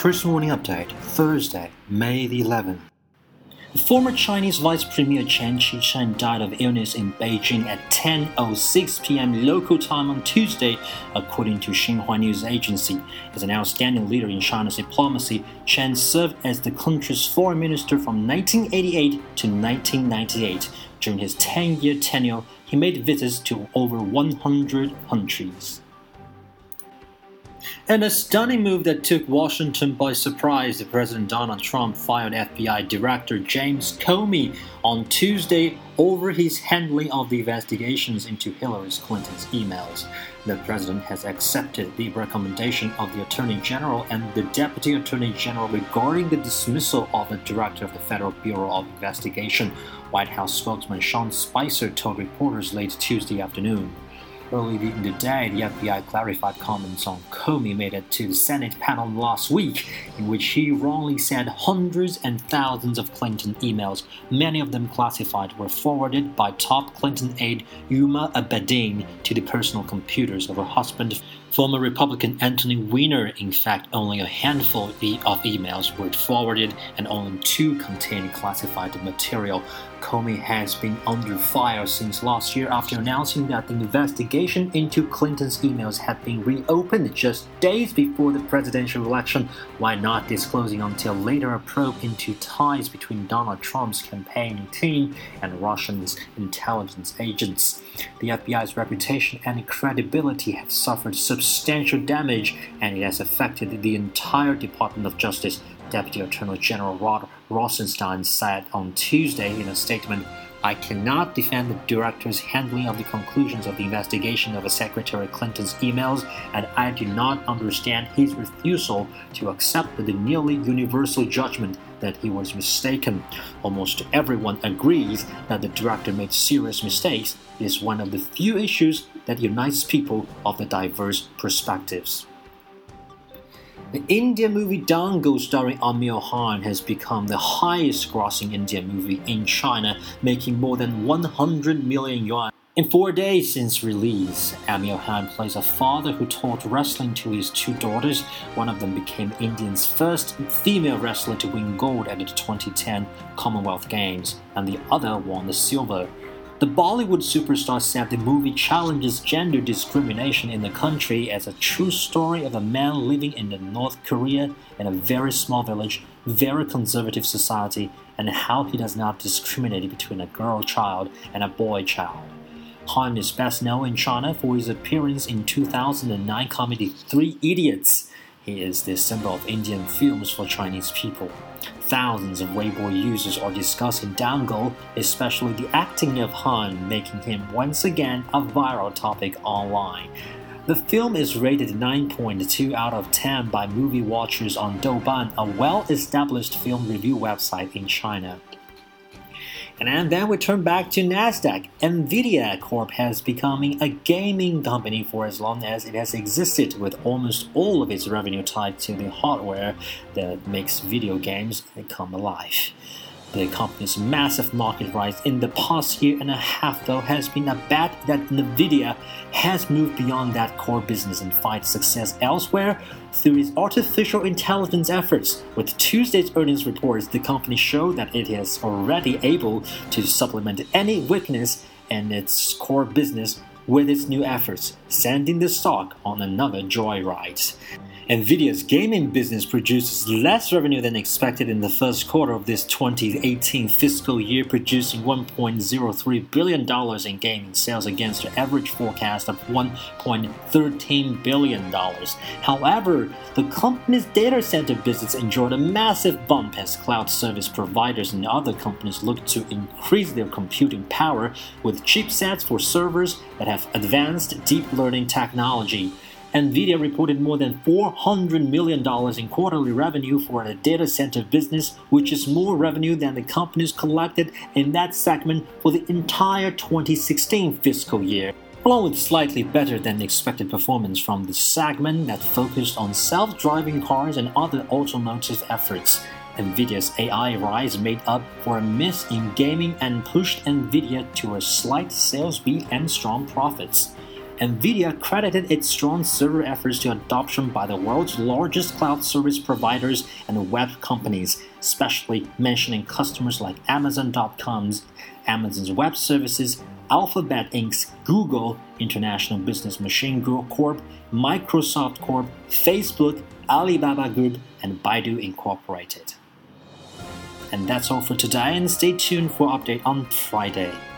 Chris Morning Update, Thursday, May the 11th. The former Chinese Vice Premier Chen Qi-sheng died of illness in Beijing at 10:06 p.m. local time on Tuesday, according to Xinhua News Agency. As an outstanding leader in China's diplomacy, Chen served as the country's foreign minister from 1988 to 1998. During his 10-year tenure, he made visits to over 100 countries. In a stunning move that took Washington by surprise, President Donald Trump fired FBI Director James Comey on Tuesday over his handling of the investigations into Hillary Clinton's emails. The president has accepted the recommendation of the Attorney General and the Deputy Attorney General regarding the dismissal of the Director of the Federal Bureau of Investigation, White House spokesman Sean Spicer told reporters late Tuesday afternoon. Early in the day, the FBI clarified comments on Comey made it to the Senate panel last week, in which he wrongly said hundreds and thousands of Clinton emails, many of them classified, were forwarded by top Clinton aide Huma Abedin to the personal computers of her husband, former Republican Anthony Weiner. In fact, only a handful of emails were forwarded and only 2 contained classified material. Comey has been under fire since last year after announcing that the investigation into Clinton's emails had been reopened just days before the presidential election, while not disclosing until later a probe into ties between Donald Trump's campaign team and Russian intelligence agents. The FBI's reputation and credibility have suffered substantial damage, and it has affected the entire Department of Justice, Deputy Attorney General Rod Rosenstein said on Tuesday in a statement. I cannot defend the director's handling of the conclusions of the investigation of Secretary Clinton's emails, and I do not understand his refusal to accept the nearly universal judgment that he was mistaken. Almost everyone agrees that the director made serious mistakes. It is one of the few issues that unites people of the diverse perspectives. The Indian movie Dangal starring Aamir Khan has become the highest-grossing Indian movie in China, making more than 100 million yuan. In 4 days since release, Aamir Khan plays a father who taught wrestling to his 2 daughters. One of them became India's first female wrestler to win gold at the 2010 Commonwealth Games, and the other won the silver. The Bollywood superstar said the movie challenges gender discrimination in the country as a true story of a man living in North Korea in a very small village, very conservative society, and how he does not discriminate between a girl child and a boy child. Han is best known in China for his appearance in 2009 comedy 3 Idiots. He is the symbol of Indian films for Chinese people. Thousands of Weibo users are discussing Dangal, especially the acting of Han, making him once again a viral topic online. The film is rated 9.2 out of 10 by movie watchers on Douban, a well-established film review website in China. And then we turn back to Nasdaq. Nvidia Corp has become a gaming company for as long as it has existed, with almost all of its revenue tied to the hardware that makes video games come alive. The company's massive market rise in the past year and a half, though, has been a bet that Nvidia has moved beyond that core business and finds success elsewhere through its artificial intelligence efforts. With Tuesday's earnings reports, the company showed that it is already able to supplement any weakness in its core business with its new efforts, sending the stock on another joyride. Nvidia's gaming business produces less revenue than expected in the first quarter of this 2018 fiscal year, producing $1.03 billion in gaming sales against an average forecast of $1.13 billion. However, the company's data center business enjoyed a massive bump as cloud service providers and other companies look to increase their computing power with chipsets for servers that have advanced deep learning technology. Nvidia reported more than $400 million in quarterly revenue for the data center business, which is more revenue than the companies collected in that segment for the entire 2016 fiscal year, along with slightly better than expected performance from the segment that focused on self-driving cars and other automotive efforts. Nvidia's AI rise made up for a miss in gaming and pushed Nvidia to a slight sales beat and strong profits. NVIDIA credited its strong server efforts to adoption by the world's largest cloud service providers and web companies, especially mentioning customers like Amazon.com's Amazon's Web Services, Alphabet Inc.'s Google, International Business Machine Group Corp., Microsoft Corp., Facebook, Alibaba Group, and Baidu Incorporated. And that's all for today, and stay tuned for update on Friday.